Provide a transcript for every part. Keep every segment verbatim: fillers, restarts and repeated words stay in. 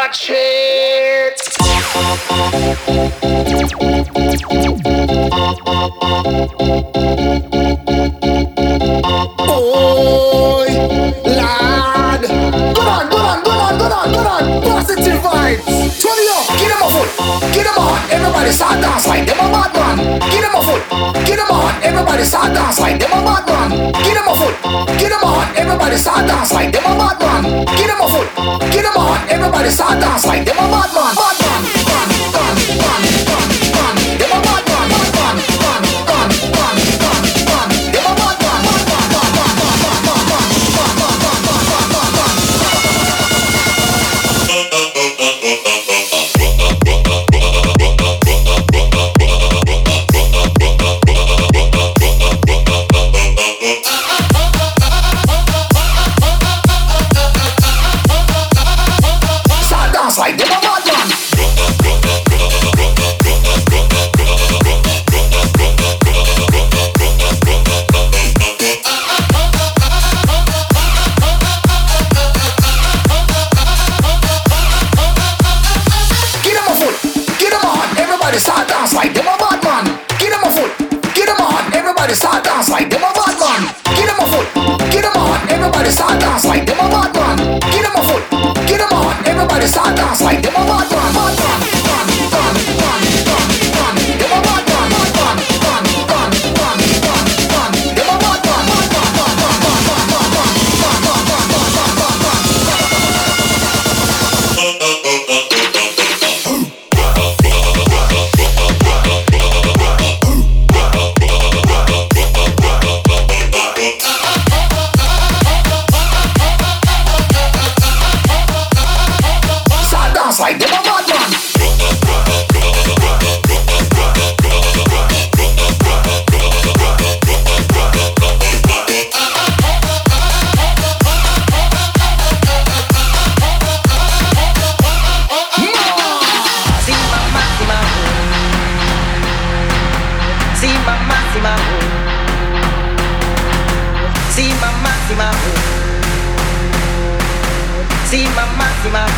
watch it. Oi, lad. Go on, go on, go on, go on, go on. Positive vibes. Turn it up. Get them a foot. Get them on. Everybody start dance like them a bad man. Get them a foot. Get them on. Everybody start dance like them a bad man. Get them a foot. Get them on. Everybody start dance like them a bad man. Get them a foot. Get them on. Everybody start dance like them a bad man. Bad man. Bad man. Bad man. Bad man. Them a bad man. Bad man. Bad man. Bad man. Bad man. Them a bad man. Bad man. Bad man. Bad man. Bad man. Like them a bad man. Get them a foot, get them on, everybody start dance like them a bad man. Get them a foot, get them on, everybody start dance like them a bad man. Get them a foot, get them on, everybody start dance like them a bad man. Get them a foot, get them on, everybody start dance like them a bad man. Bad man, bad man, bad man, bad man. Them a bad man, bad man, bad man, bad man, bad man. Them a bad man, bad man, bad man, bad man, bad man, bad man, bad man, bad man, bad like them a bad man. See mamma, see mamma.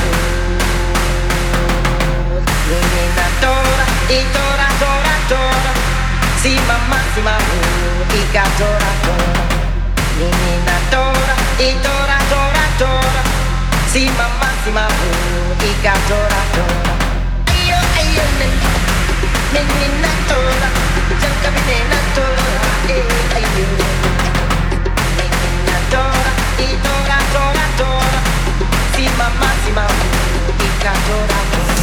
Menina tora, e tora, tora, tora. Si mamma, si mamma, ica tora, tora. Menina tora, e tora, tora, tora. Si mamma, si mamma, ica tora, tora. Ayo, ayo, menina tora, jangan menina tora, eh, ayo. Menina tora, e tora, tora, tora. Si mamma, si mamma, ica tora, tora.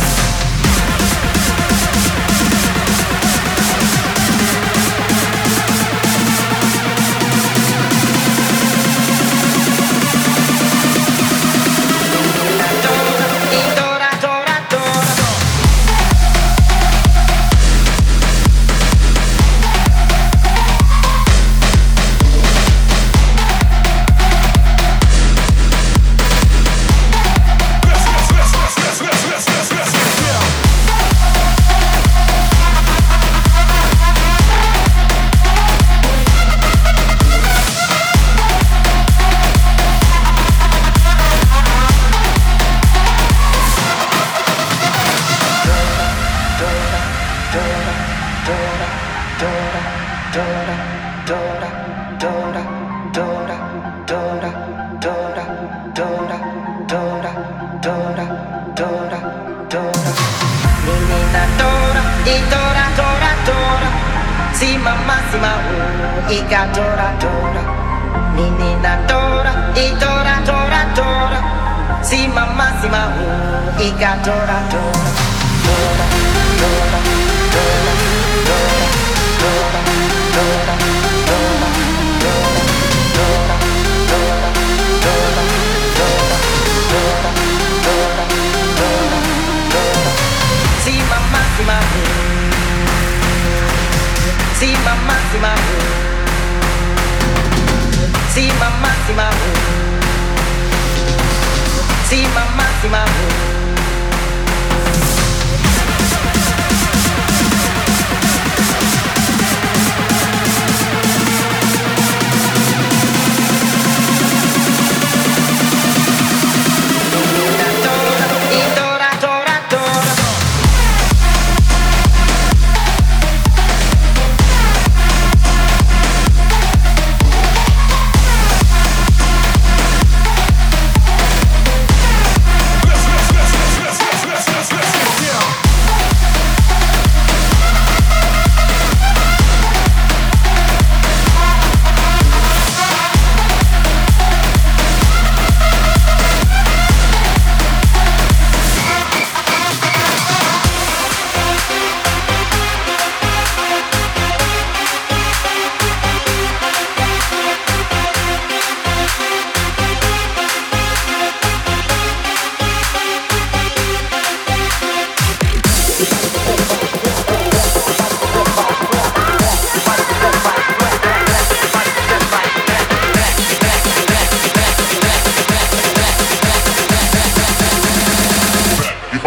Tora,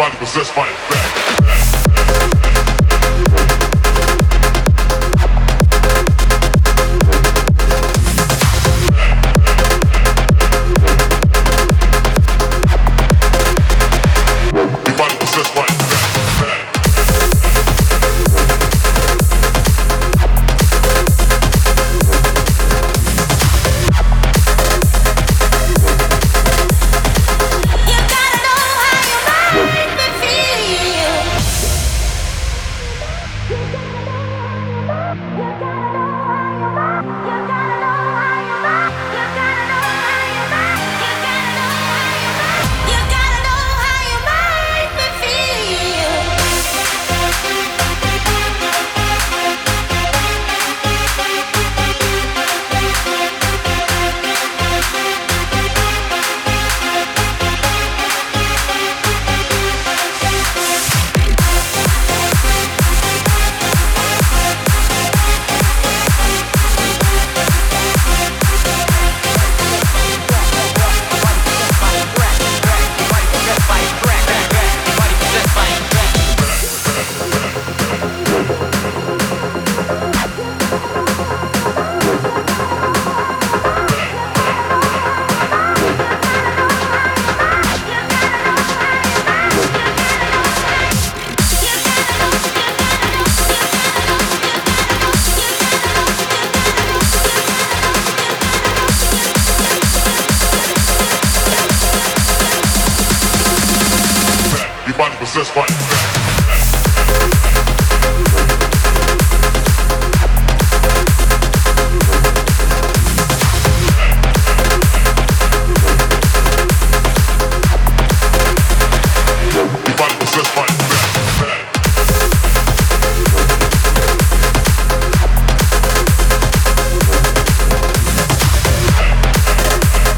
body possessed by a fact. Possessed by a fact.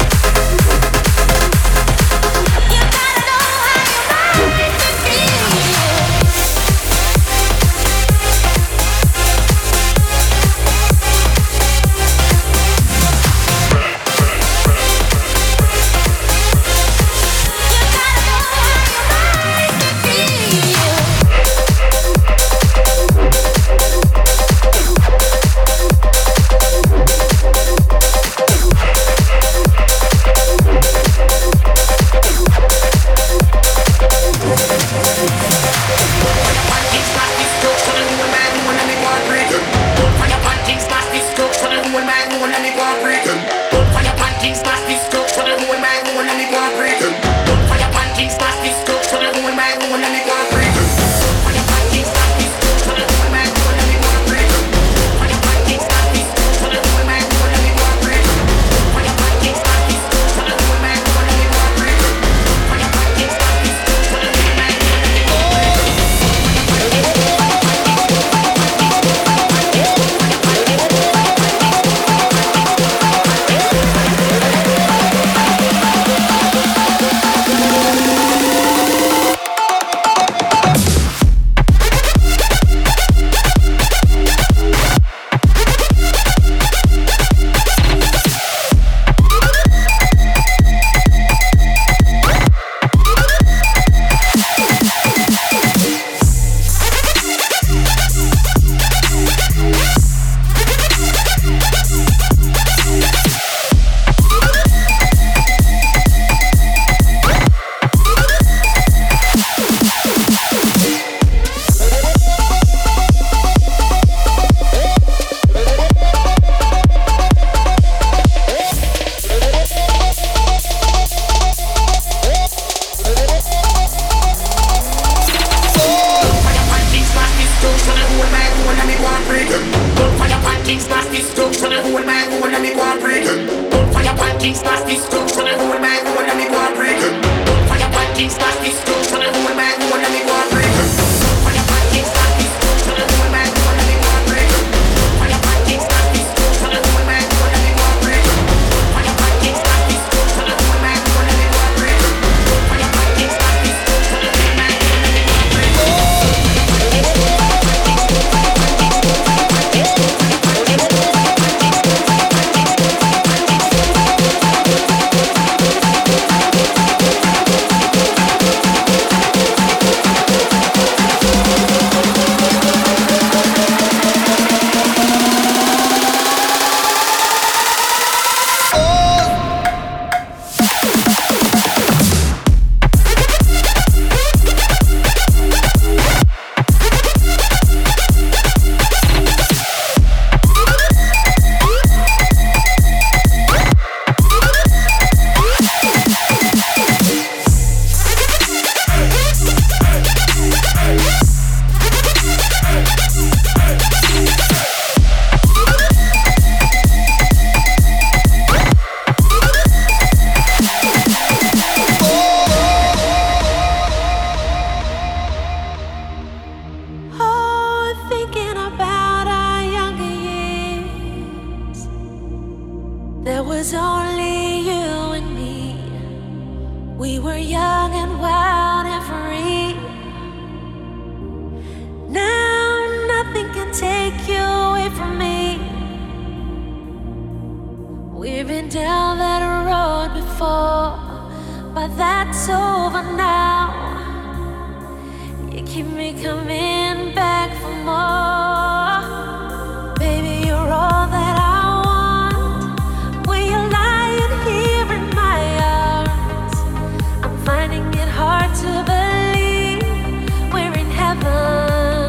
You gotta know how you make me feel. We were young and wild and free. Now nothing can take you away from me. We've been down that road before, but that's over now. You keep me coming back for more. Baby, you're all that I want. When you're lying here in my arms, I'm finding it hard to believe we're in heaven.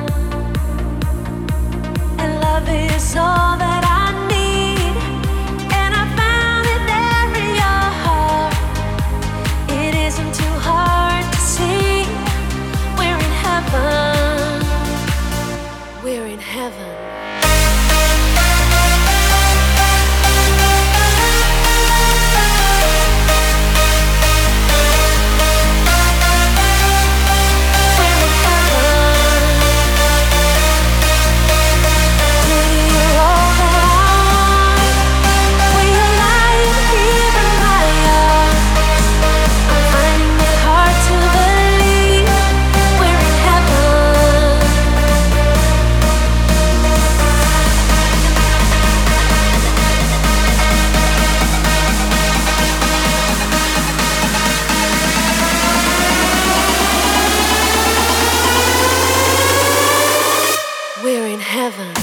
And love is all that I need, and I found it there in your heart. It isn't too hard to see. We're in heaven. We're in heaven. We're in heaven.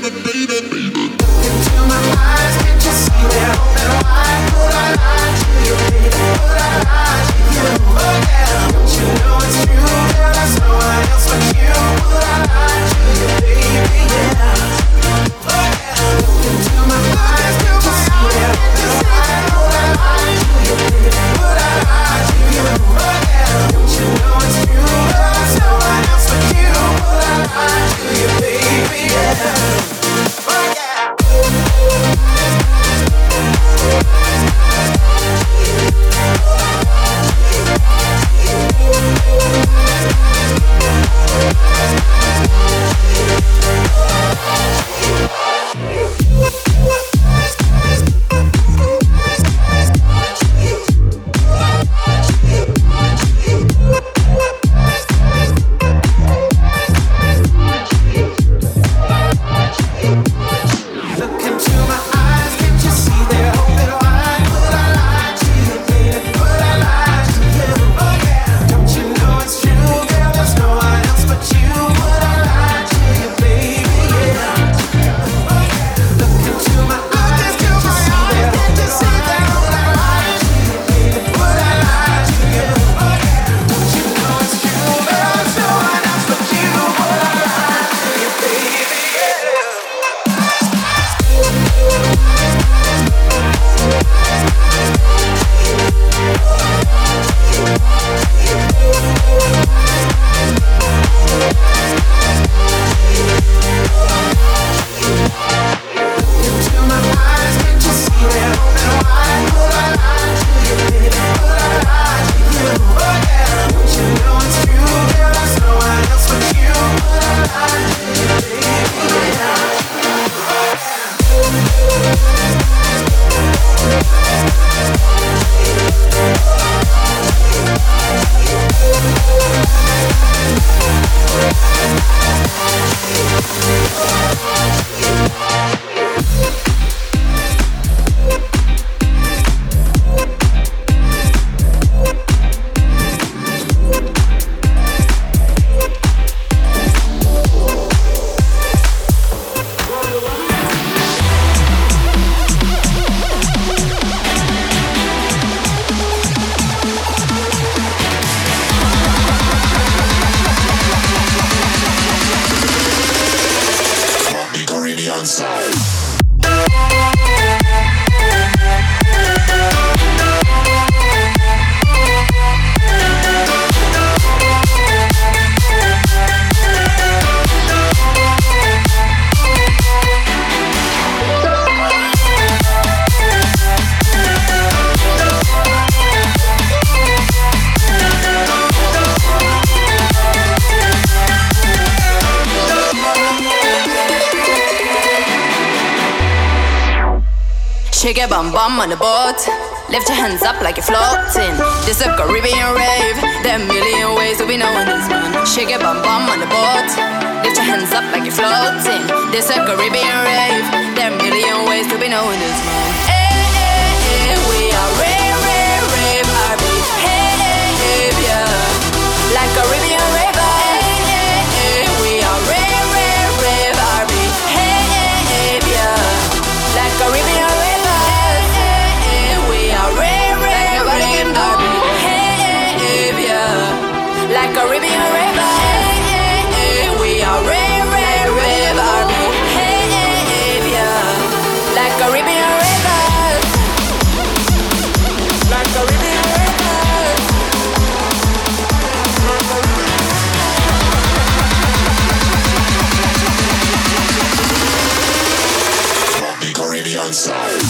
Shake your bum bum on the boat. Lift your hands up like you're floating. This a Caribbean rave. There are a million ways to be knowing this man. Shake your bum bum on the boat. Lift your hands up like you're floating. This a Caribbean rave. There are a million ways to be knowing this man. Hey, hey, hey, we are rave, rave, rave, R B. Hey, hey, hey, yeah. Like Caribbean rave. Hey, hey, hey, we are rave, rave, rave, R B. Hey, hey, hey, yeah. Like Caribbean rave. Like Caribbean river, hey, hey, hey, we are rave, rave, rave, R B. Hey, hey, hey, yeah. Like Caribbean river, like Caribbean river. The Caribbean sound.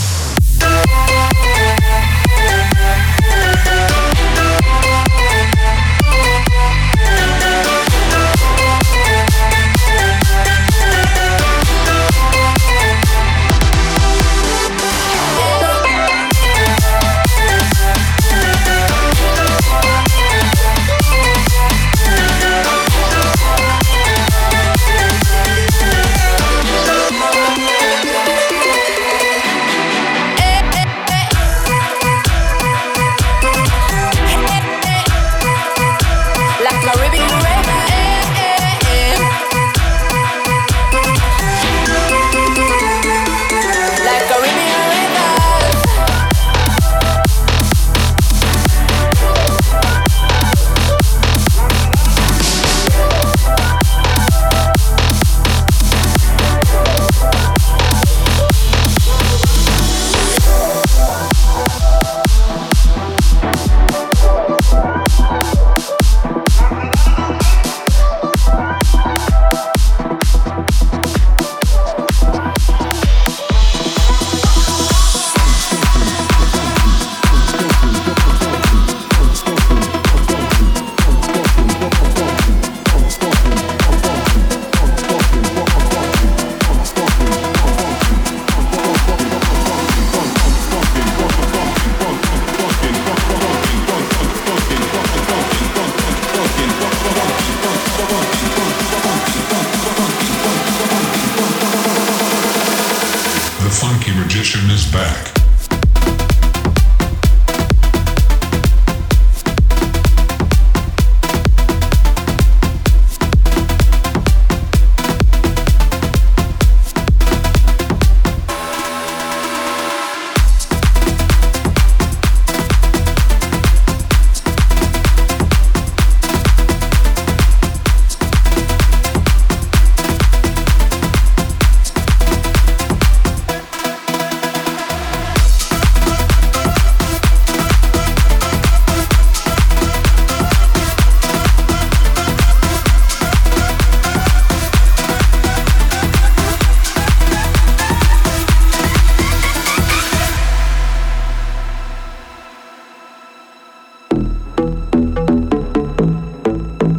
magician is back.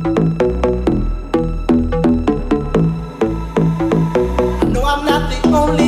No, I'm not the only